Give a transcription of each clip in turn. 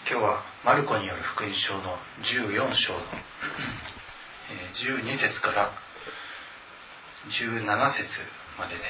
今日はマルコによる福音書の14章の12節から17節までです。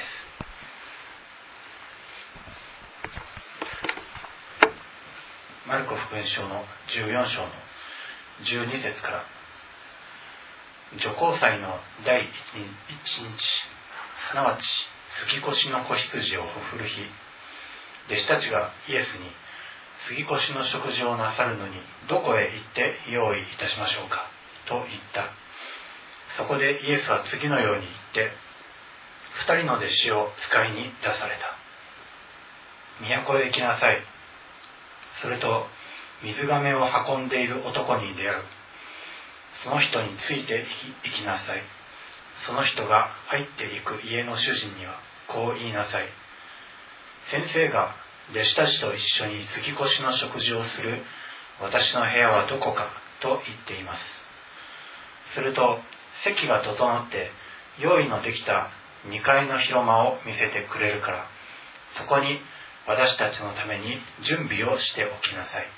マルコ福音書の14章の12節から、除光祭の第1日、すなわち杉越の子羊をほふる日、弟子たちがイエスに、杉越の食事をなさるのにどこへ行って用意いたしましょうかと言った。そこでイエスは次のように言って2人の弟子を使いに出された。都へ行きなさい。それと水がめを運んでいる男に出会う。その人について行きなさい。その人が入っていく家の主人にはこう言いなさい。先生が弟子たちと一緒に杉越の食事をする私の部屋はどこかと言っています。すると席が整って用意のできた2階の広間を見せてくれるから、そこに私たちのために準備をしておきなさい。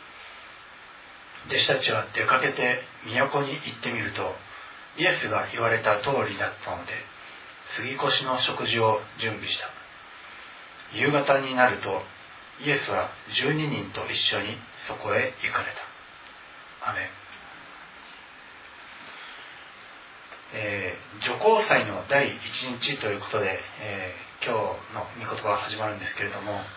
弟子たちは出かけて都に行ってみると、イエスが言われた通りだったので杉越の食事を準備した。夕方になるとイエスは12人と一緒にそこへ行かれた。アメン。除光祭の第1日ということで、今日の御言葉が始まるんですけれども、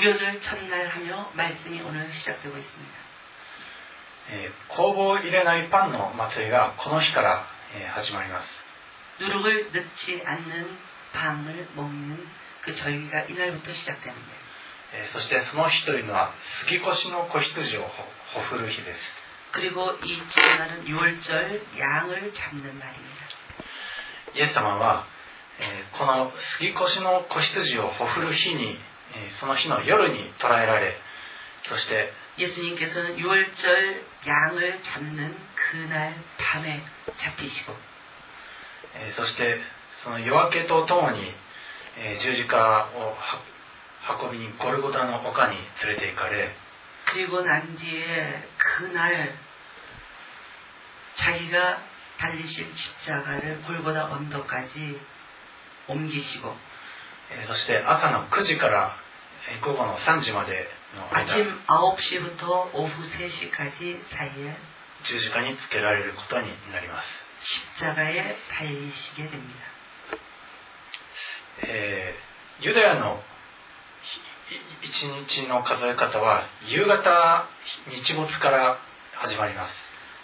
무교절첫날하며말씀이오늘시작되고있습니다。 酵母を入れないパンの祭りがこの日から始まります。 누룩을넣지않는빵을먹는그절기가이날부터시작되는데요。 そしてその日というのは杉越の子羊をほふる日です。 그리고이날은 유월절양을잡는날입니다。 イエス様は、この杉越の子羊をほふる日に、その日の夜に捕らえられ、そして 예수님께서는 유월절 양을 잡는 그날 밤에 잡히시고, そしてその夜明けとともに、十字架を運びにゴルゴタの丘に連れて行かれ、 그리고 난 뒤에 그날 자기가 달리실 십자가를 골고다 언덕까지 옮기시고, そして朝の9時から午後の3時までの間、 아침 9시부터 오후 3시까지 사이에 十字架につけられることになります。 십자가에 달리시게 됩니다. ユダヤの一日の数え方は夕方日没から始まります。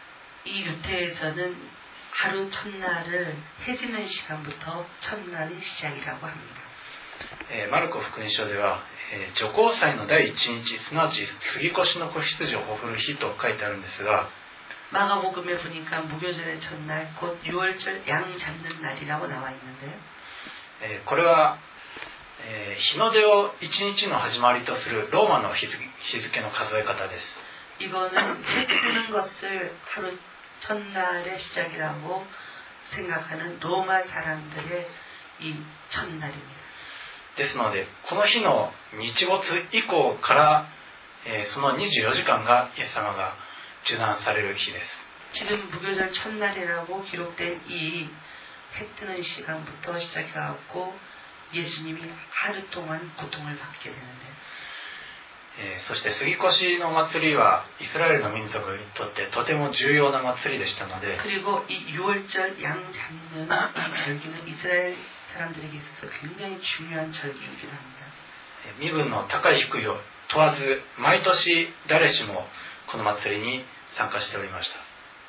이 유태에서는 하루 첫날을 해지는 시간부터 첫날이 시작이라고 합니다. マルコ福音書では、除光祭の第一日、すなわち杉越の子羊をほふる日と書いてあるんですが、 마가복음에 보니까 무교절의 첫날 곧 유월절 양 잡는 날이라고 나와 있는데요. これは、日の出を一日の始まりとするローマの日付の数え方です。 이거는 해 뜨는 것을 하루 첫날의 시작이라고 생각하는 로마 사람들의 이 첫날입니다. ですのでこの日の日没以降から、その24時間がイエス様が受難される日です。 지금 무교절 첫날이라고 기록된 이 해 뜨는 시간부터 시작해갖고 예수님이 하루 동안 고통을 받게 되는데, そして杉越の祭りはイスラエルの民族にとってとても重要な祭りでしたので、 그리고 이 유월절 양 잡는 이 절기는 이스라엘 사람들에게 있어서 굉장히 중요한 절기이기도 합니다. 身分の高い低いを問わず毎年誰しもこの祭りに参加しておりました。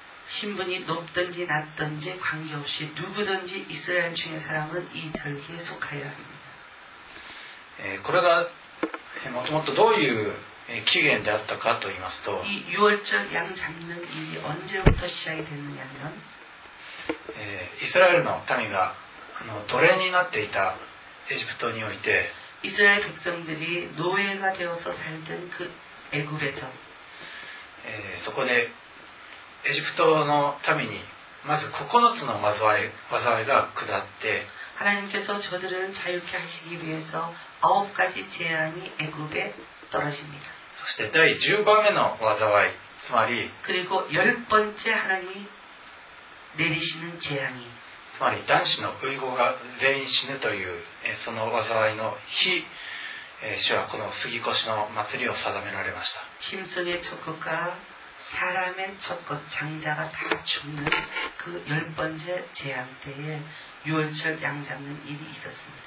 신분이 높든지 낮든지 관계없이 누구든지 이스라엘 중의 사람은 이 절기에 속하여야 합니다. これがもともとどういう起源であったかと言いますと、 이 유월절 양 잡는 일이 언제부터 시작이 됐느냐면, イスラエルの民が奴隷になっていたエジプトにおいて、 이스라엘 백성들이 노예가 되어서 살던 그 애굽에서 そこでエジプトの民にまず9つの災いが下って、 하나님께서 저들을 자유케 하시기 위해서 9가지 재앙이 애굽에 떨어집니다. そして第10番目の災い、つまり 그리고 10번째 하나님이 내리시는 재앙이 つまり男子の遺語が全員死ぬというその災いの日、主はこの杉越の祭りを定められました。 짐승의 첫 것과 사람의 첫 것, 장자가 다 죽는 그 10번째 재앙 때에 유월절 양 잡는 일이 있었습니다.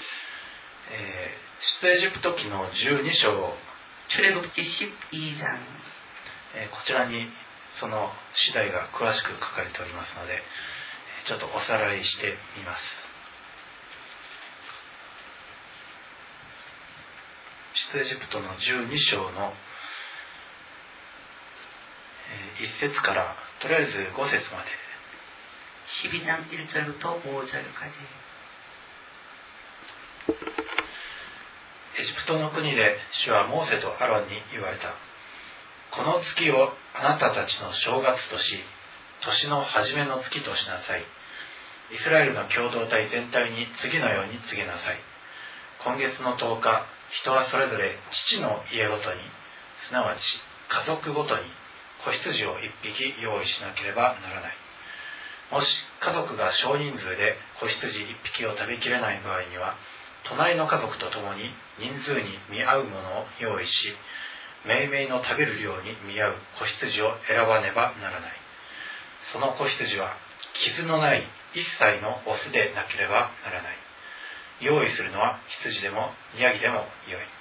出エジプト記の12章、 출애굽기 12장 こちらにその次第が詳しく書かれておりますので、ちょっとおさらいしてみます。出エジプトの12章の1節からとりあえず5節まで、 12장 1절부터 5절까지 エジプトの国で主はモーセとアロンに言われた。この月をあなたたちの正月とし、年の初めの月としなさい。イスラエルの共同体全体に次のように告げなさい。今月の10日、人はそれぞれ父の家ごとに、すなわち家族ごとに子羊を1匹用意しなければならない。もし家族が少人数で子羊1匹を食べきれない場合には、隣の家族と共に人数に見合うものを用意し、めいめいの食べる量に見合う子羊を選ばねばならない。その子羊は傷のない一切のオスでなければならない。用意するのは羊でもヤギでもよい。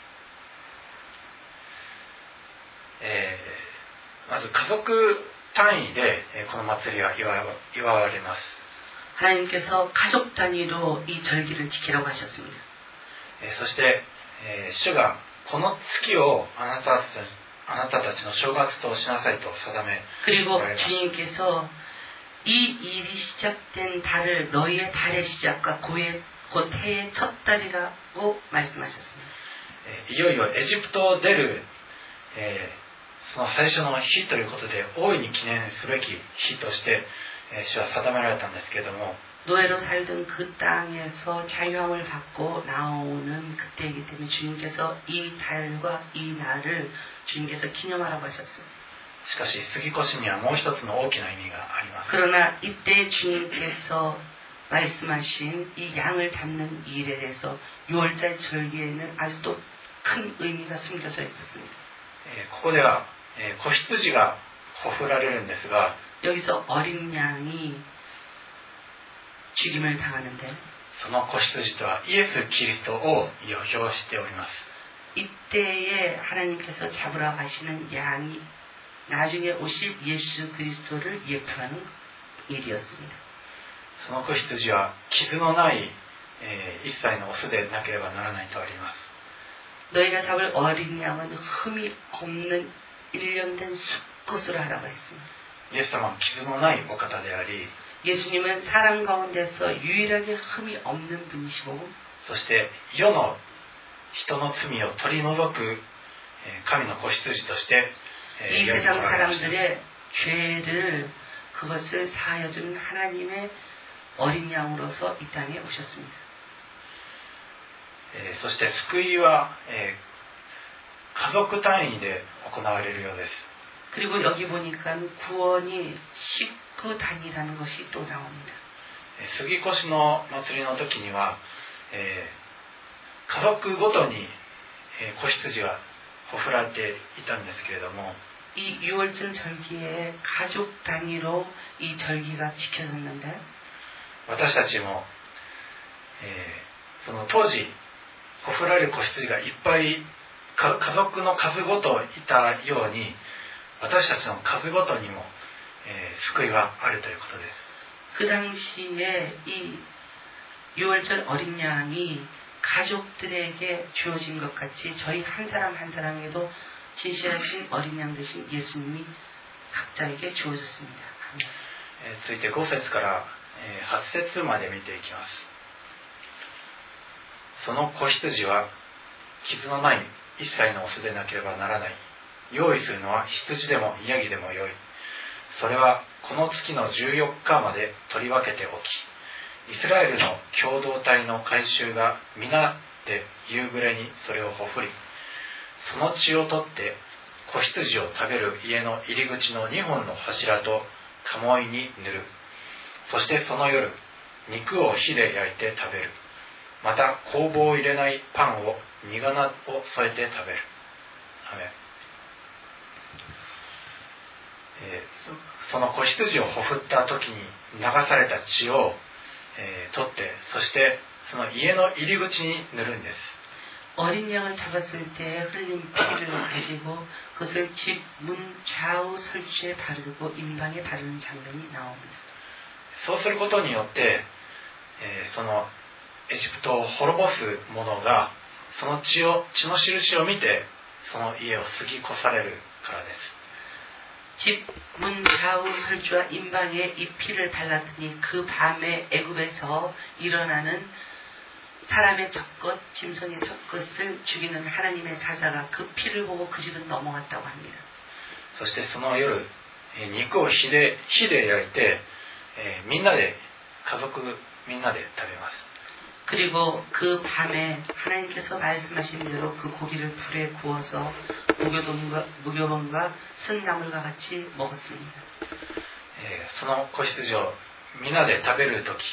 まず家族単位でこの祭りは祝われます。 하나님께서 가족 단위로 이 절기를 지키라고 하셨습니다. そして、主がこの月をあなたたちの正月としなさいと定め 그리고 주님께서 이 일이 시작된 달을 너희의 달의 시작과 곧 해의 첫 달이라고 말씀하셨습니다. いよいよエジプトを出る、その最初の日ということで大いに記念すべき日として、主は定められたんですけれども、 노예로 살던 그 땅에서 자유함을 받고 나오는 그때이기 때문에 주님께서 이 달과 이 날을 주님께서 기념하라고 하셨어요. しかし杉越にはもう一つの大きな意味があります。 그러나 이때 주님께서 말씀하신 이 양을 잡는 일에 대해서 6월절 절기에는 아주 또 큰 의미가 숨겨져 있었습니다. ここでは、子羊がほふられるんですが、 여기서 어린 양이 죽임을 당하는데 その子羊とはイエス・キリストを予表しております。 이때에 하나님께서 잡으러 가시는 양이 나중에 오실 예수 그리스도를 예표하는 일이었습니다. その子羊は傷のない、一切のオスでなければならないとあります。 너희가 잡을 어린 양은 흠이 없는 1년 된 수컷으로 하라고 했습니다. イエス様は傷のないお方であり、 예수님은 사람 가운데서 유일하게 흠이 없는 분이시고 そして世の人の罪を取り除く神の子羊として、 이 世に来 세상 られました。 사람들의 죄를 그것을 사하여주는 하나님의 어린 양으로서 이 땅에 오셨습니다. そして救いは、家族単位で行われるようです。 그리고 여기 보니까 구원이 식구 단위라는 것이 또 나옵니다. 杉越の祭りの時には、家族ごとに、子羊がほふられていたんですけれども、 이 6월절 절기에 가족 단위로 이 절기가 지켜졌는데 私たちも、その当時ほふられる子羊がいっぱい家族の数ごといたように、私たちの数ごとにも、救いはあるということです。 그 당시에 이 6월절 어린 양이 가족들에게 주어진 것 같이 저희 한 사람 한 사람에도 진실하신 어린 양 되신 예수님이 각자에게 주어졌습니다. 続いて5節から8節まで見ていきます。その子羊は傷のない一切のオスでなければならない。用意するのは羊でもヤギでもよい。それはこの月の14日まで取り分けておき、イスラエルの共同体の改宗が皆で夕暮れにそれをほふり、 その血を取って子羊を食べる家の入り口の2本の柱と鴨居に塗る。そしてその夜、肉を火で焼いて食べる。また酵母を入れないパンを煮花を添えて食べる。アメン。その子羊をほふった時に流された血を、取って、そしてその家の入り口に塗るんです。 어린 양을 잡았을 때 흘린 피를 가지고 그것을 집 문 좌우 설주에 바르고 임방에 바르는 장면이 나옵니다. そうすることによって、そのエジプトを滅ぼす者がその血の印を見てその家を過ぎ越されるからです。 집 문 좌우 설주와 임방에 이 피를 발랐더니 그 밤에 애굽에서 일어나는 사람의 젖것, 짐승의 젖것을 죽이는 하나님의 사자가 그 피를 보고 그 집은 넘어갔다고 합니다. そしてその夜、肉を火で焼いて、みんなで家族みんなで食べます。 그리고 그 밤에 하나님께서 말씀하신 대로 그 고기를 불에 구워서 무교범과 쓴나물과 같이 먹었습니다. その子羊をみんなで食べるとき、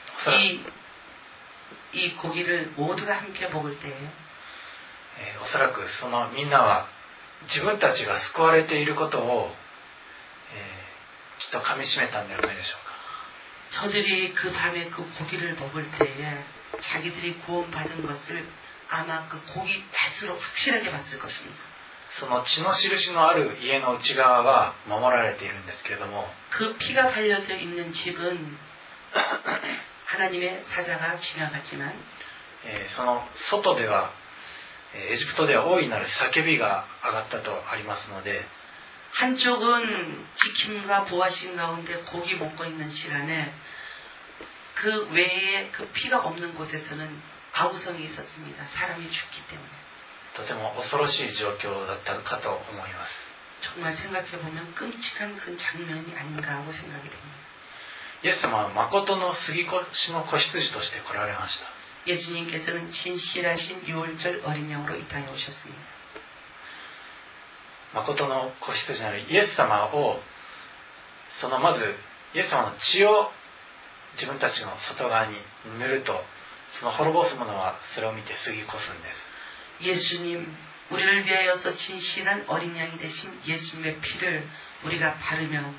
이 고기를 모두가 함께 먹을 때에 おそらくそのみんなは自分たちが救われていることを、きっと噛み締めたんではないでしょうか。 저들이 그 밤에 그 고기를 먹을 때에 자기들이 구원받은 것을 아마 그 고기 맛으로 확실하게 봤을 것입니다. その血の印のある家の内側は守られているんですけれども、 그 피가 발려져 있는 집은 하나님의 사자가 지나갔지만 その外ではエジプトでは大いなる叫びが上がったとありますので、 한쪽은 지킴과 보호하신 가운데 고기 먹고 있는 시간에 그 외에 그 피가 없는 곳에서는 아우성이 있었습니다. 사람이 죽기 때문에. とても恐ろしい状況だったかと思います。 정말 생각해보면 끔찍한 그 장면이 아닌가 하고 생각이 됩니다. イエス様は誠の杉越の子羊として来られました。 예수님께서는 진실하신 유월절 어린 양으로 이 땅에 오셨습니다. 誠の子羊なるイエス様をそのまずイエス様の血を自分たちの外側に塗るとその滅ぼす者はそれを見て過ぎ越すんです。 예수님, 우리를 위하여서 진실한 어린 양이 되신 예수님의 피를 우리가 바르면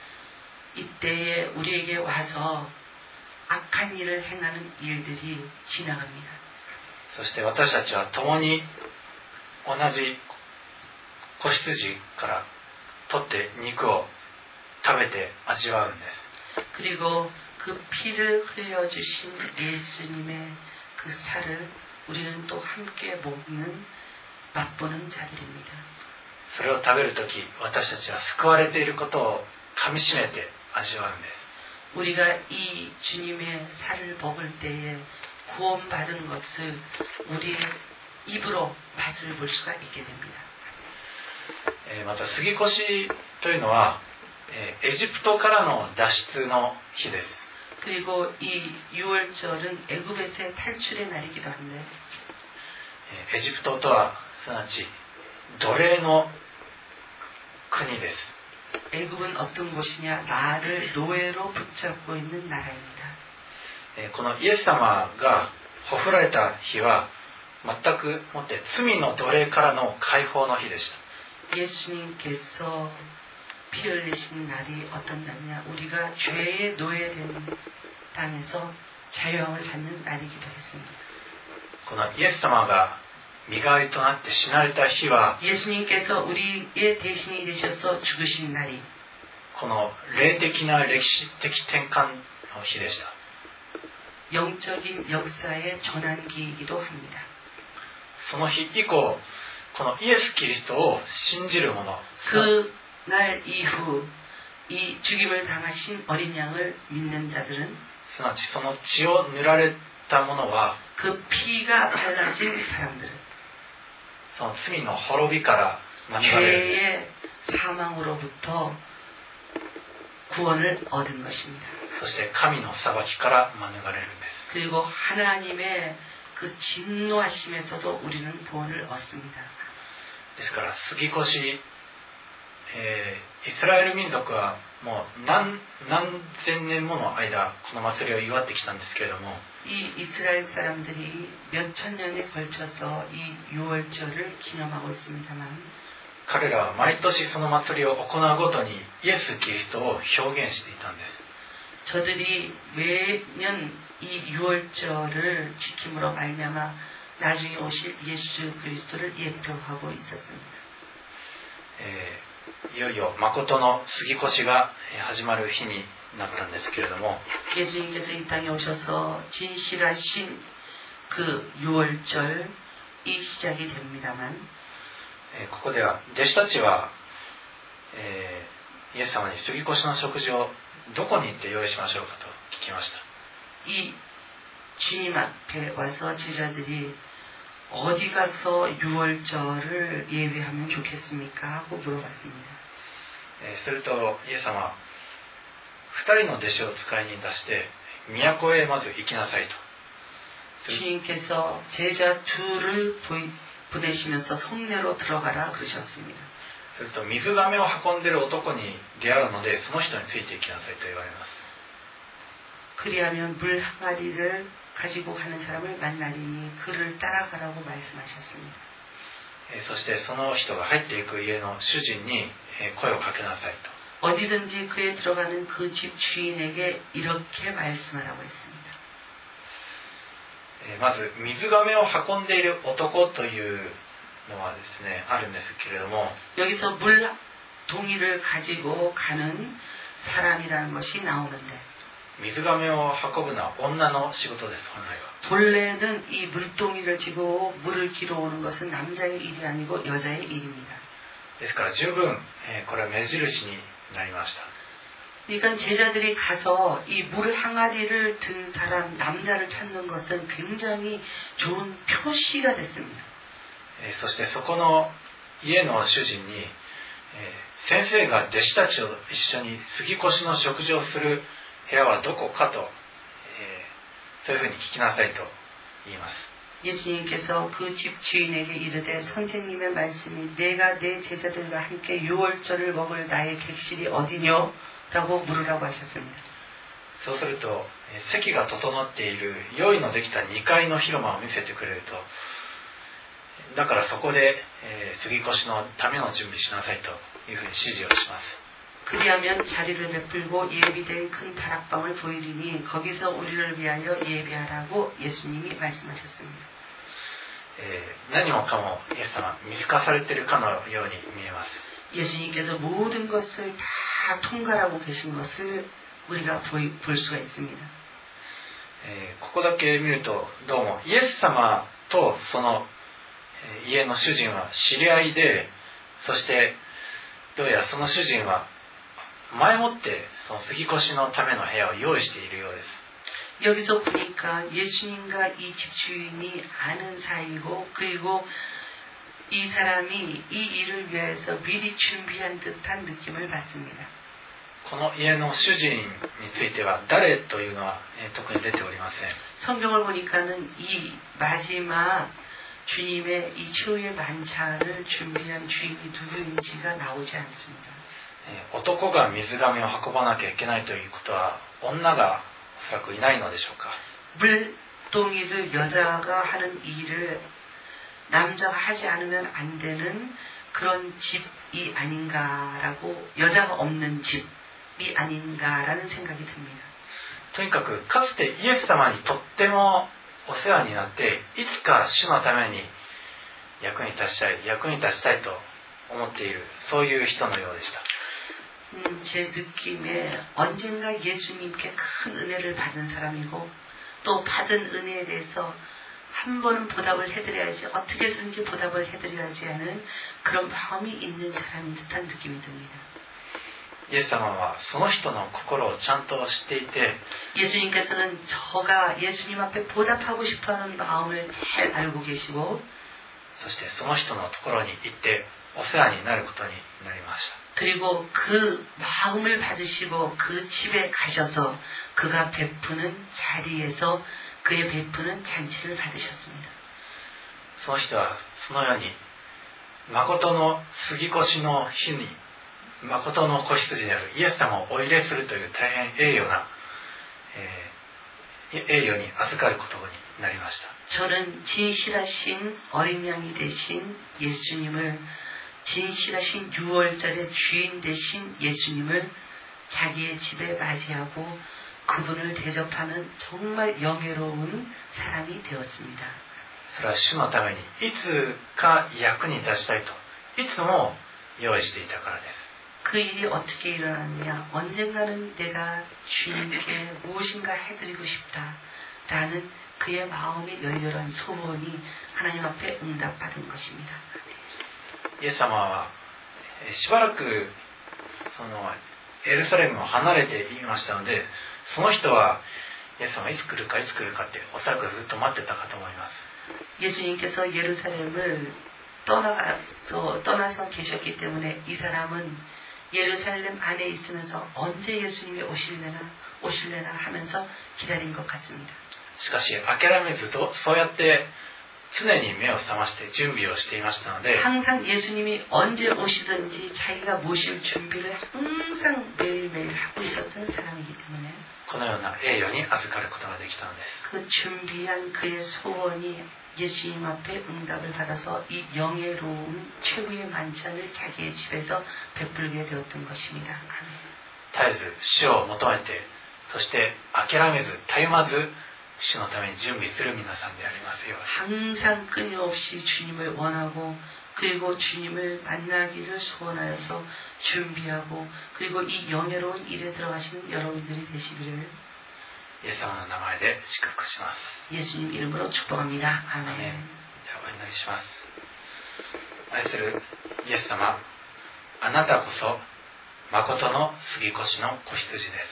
이때에 우리에게 와서 악한 일을 행하는 일들이 지나갑니다. そして私たちは共に同じ子羊から取って肉を食べて味わうんです。 그리고 그 피를 흘려주신 예수님의 그 살을 우리는 또 함께 먹는 맛보는 자들입니다. それを食べるとき私たちは救われていることを噛み締めて味わうんです。 우리가 이 주님의 살을 먹을 때에 구원받은 것을 우리의 입으로 맛을 볼 수가 있게 됩니다. また杉越というのはエジプトからの脱出の日です。 그리고 이 유월절은 애굽에서의 탈출의 날이기도 한데 エジプトとはすなわち奴隷の国です。 애굽은 어떤 곳이냐? 나를 노예로 붙잡고 있는 나라입니다. このイエス様がほふられた日は全くもって罪の奴隷からの解放の日でした。 예수님께서 피 흘리신 날이 어떤 날이냐? 우리가 죄의 노예된 땅에서 자유함을 받는 날이기도 했습니다. このイエス様が身代わりとなって死なれた日は 예수님께서 우리의 대신이 되셔서 죽으신 날이 この霊的な歴史的転換の日でした。 영적인 역사의 전환기이기도 합니다. その日以降このイエス・キリストを信じる者 그 날 이후 이 죽임을 당하신 어린 양을 믿는 자들은 すなわちその血を塗られた者は 그 피가 발라진 사람들은 その罪の滅びから免れる 죄의 사망으로부터 구원을 얻은 것입니다. そして神の裁きから免れるんです。 그리고 하나님의 그 진노하심에서도 우리는 구원을 얻습니다. ですから杉越、イスラエル民族はもう何千年もの間この祭りを祝ってきたんですけれども、 이 이스라엘 사람들이 몇 천 년에 걸쳐서 이 유월절을 기념하고 있습니다만 彼らは毎年その祭りを行うごとにイエス・キリストを表現していたんです。 저들이 매년 이 유월절을 지킴으로 말미암아 나중에 오실 예수 그리스도를 예표하고 있었습니다. いよいよ誠の杉越が始まる日になったんですけれども、 예수님께서 이 땅에 오셔서 진실하신 그 유월절이 시작이 됩니다만 ここでは弟子たちは、イエス様に杉越の食事をどこに行って用意しましょうかと聞きました。 이 주님 앞에 와서 제자들이 어디 가서 유월절을 예배하면 좋겠습니까? 하고 물어봤습니다. するとイエス様は2人の弟子を使いに出して都へまず行きなさいと。 주님께서 제자 둘을 보내시면서 성내로 들어가라 그러셨습니다. すると水がめを運んでいる男に出会うのでその人について行きなさいと言われます。 그리하면 물 항아리를 가지고 가는 사람을 만나리니 그를 따라가라고 말씀하셨습니다. そしてその人が入っていく家の主人に声をかけなさいと。 어디든지 그에 들어가는 그 집 주인에게 이렇게 말씀하라고 했습니다. まず水がめを運んでいる男というのはですねあるんですけれども、 여기서 물 동이를 가지고 가는 사람이라는 것이 나오는데 水がめを運ぶのは女の仕事です。本来は 본래는 이 물동이를 지고 물을 길어 오는 것은 남자의 일이 아니고 여자의 일입니다. ですから十分これは目印になりました。 그러니까 제자들이 가서 이 물 항아리를 든 사람 남자를 찾는 것은 굉장히 좋은 표시가 됐습니다. そしてそこの家の主人に先生が弟子たちと一緒に杉越の食事をする部屋はどこかと、そういうふうに聞きなさいと言います。 예수님께서 그 집 주인에게 이르되 선생님의 말씀이 내가 내 제자들과 함께 유월절을 먹을 나의 객실이 어디뇨? 라고 물으라고 하셨습니다. そうすると席が整っている用意のできた2階の広間を見せてくれると、だからそこで杉越のための準備しなさいというふうに指示をします。 그리하면 자리를 베풀고 예비된 큰 다락방을 보이리니 거기서 우리를 위하여 예배하라고 예수님이 말씀하셨습니다. 何もかもイエス様見透かされているかのように見えます。 예수님께서 모든 것을 다 통과하고 계신 것을 우리가 볼 수가 있습니다. ここだけ見るとどうもイエス様とその家の主人は知り合いで、そしてどうやらその主人は前もってその杉越のための部屋を用意しているようです。 여기서 보니까 예수님과 이 집주인이 아는 사이고 그리고 이 사람이 이 일을 위해서 미리 준비한 듯한 느낌을 받습니다. この家の主人については誰というのは特に出ておりません。 성경을 보니까는 이 마지막 주님의 이 최후의 만찬을 준비한 주인이 누구인지가 나오지 않습니다. 男が水がめを運ばなきゃいけないということは女がおそらくいないのでしょうか。 물동이를 여자가 하는 일을 남자가 하지 않으면 안 되는 그런 집이 아닌가라고, 여자가 없는 집이 아닌가라는 생각이 듭니다. とにかくかつてイエス様にとってもお世話になっていつか主のために役に立ちたいと思っている、そういう人のようでした。 제 느낌에 언젠가 예수님께 큰 은혜를 받은 사람이고 또 받은 은혜에 대해서 한 번은 보답을 해드려야지, 어떻게 해서든지 보답을 해드려야지 하는 그런 마음이 있는 사람인 듯한 느낌이 듭니다. イエス様はその人の心をちゃんと知っていて、 예수님께서는 저가 예수님 앞에 보답하고 싶어하는 마음을 잘 알고 계시고, そしてその人のところに行ってお世話になることになりました。 그리고 그 마음을 받으시고 그 집에 가셔서 그가 베푸는 자리에서 그의 베푸는 잔치를 받으셨습니다. その人はそのように誠の杉越の日に誠の子羊であるイエス様をお入れするという大変栄誉に預かることになりました。 저는 진실하신 어린 양이 되신 예수님을, 진실하신 유월절의 주인 되신 예수님을 자기의 집에 맞이하고 그분을 대접하는 정말 영예로운 사람이 되었습니다. それは主のためにいつか役に立ちたいといつも用意していたからです。 그 일이 어떻게 일어났냐? 언젠가는 내가 주님께 무엇인가 해드리고 싶다라는 그의 마음의 열렬한 소원이 하나님 앞에 응답받은 것입니다. イエス様はしばらくエルサレムを離れていましたので、その人はイエス様がいつ来るかっておそらくずっと待ってたかと思います。 예수님께서 예루살렘을 떠나서 계셨기 때문에 이 사람은 예루살렘 안에 있으면서 언제 예수님이 오실래나 하면서 기다린 것 같습니다. しかし諦めずとそうやって常に目を覚まして準備をしていましたので、 항상 예수님이 언제 오시든지 자기가 모실 준비를 항상 매일매일 하고 있었던 사람이기 때문에 このような栄誉に預かることができたのです。 그 준비한 그의 소원이 예수님 앞에 응답을 받아서 이 영예로운 최후의 만찬을 자기의 집에서 베풀게 되었던 것입니다. 絶えず主を求めて、そして諦めずたゆまず主のために準備する皆さんでありますように。 항상 끊임없이 주님을 원하고 그리고 주님을 만나기를 소원하여서 준비하고 그리고 이 영예로운 일에 들어가시는 여러분들이 되시기를 イエス様の名前で祝福します。 예수님 이름으로 축복합니다. アーメン。 아멘. ではお祈りします。愛するイエス様、あなたこそ誠の杉越の子羊です。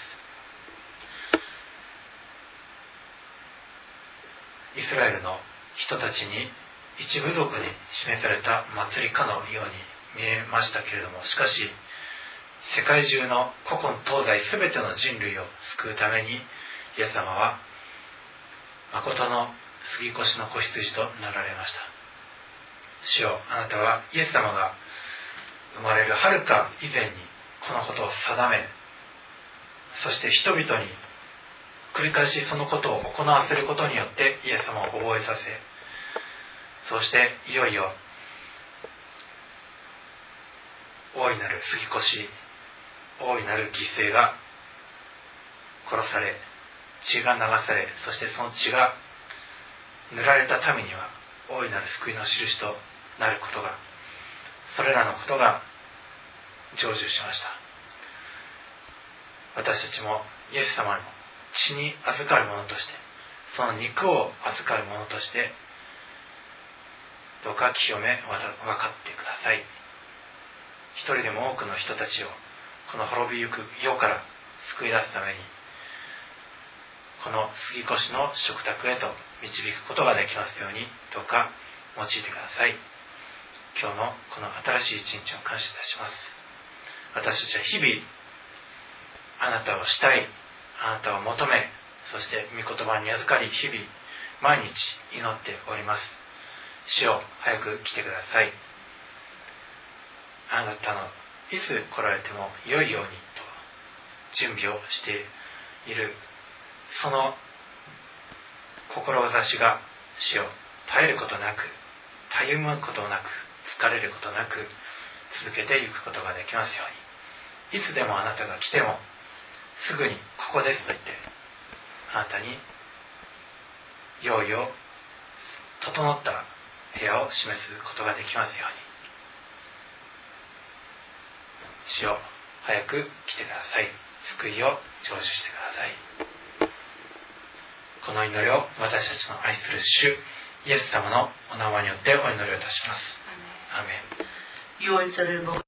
イスラエルの人たちに一部族に示された祭りかのように見えましたけれども、しかし世界中の古今東西すべての人類を救うためにイエス様は誠の杉越の子羊となられました。主よ、あなたはイエス様が生まれるはるか以前にこのことを定め、そして人々に繰り返しそのことを行わせることによってイエス様を覚えさせ、そしていよいよ大いなる杉越、大いなる犠牲が殺され、血が流され、そしてその血が塗られた民には大いなる救いの印となることが、それらのことが成就しました。私たちもイエス様の血に預かるものとして、その肉を預かるものとして、どうか清め分かってください。一人でも多くの人たちをこの滅びゆく世から救い出すために、この杉越の食卓へと導くことができますように、どうか用いてください。今日のこの新しい一日を感謝いたします。私たちは日々あなたをしたい、あなたを求め、そして御言葉に預かり、日々毎日祈っております。主よ、早く来てください。あなたのいつ来られても良いようにと準備をしている、その志が主よ、絶えることなく、たゆむことなく、疲れることなく続けていくことができますように。いつでもあなたが来てもすぐにここですと言って、あなたに用意を整った部屋を示すことができますように。主よ、早く来てください。救いを成就してください。この祈りを私たちの愛する主イエス様のお名前によってお祈りをいたします。アーメン。 유월절을